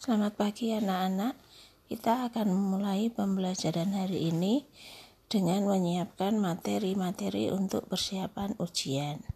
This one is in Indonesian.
Selamat pagi anak-anak. Kita akan memulai pembelajaran hari ini dengan menyiapkan materi-materi untuk persiapan ujian.